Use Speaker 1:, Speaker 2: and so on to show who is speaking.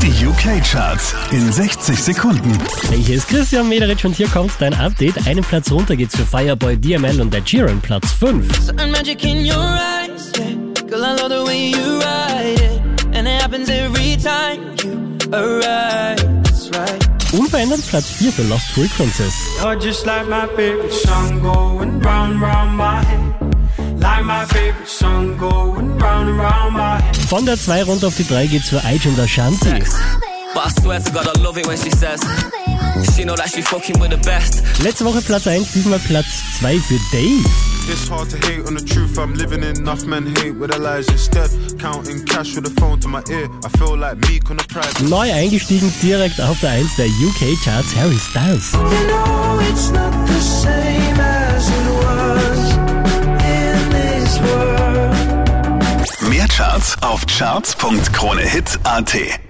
Speaker 1: Die UK-Charts in 60 Sekunden.
Speaker 2: Hey, hier ist Christian Mederitsch und hier kommt dein Update. Einen Platz runter geht's für Fireboy, DML und Ed Sheeran, Platz 5. Unverändert Platz 4 für Lost Frequencies. Von der 2 runter auf die 3 geht's für Ige und Ashanti. Letzte Woche Platz 1, diesmal Platz 2 für Dave. Neu eingestiegen direkt auf der 1 der UK-Charts, Harry Styles.
Speaker 1: Mehr Charts auf charts.kronehit.at.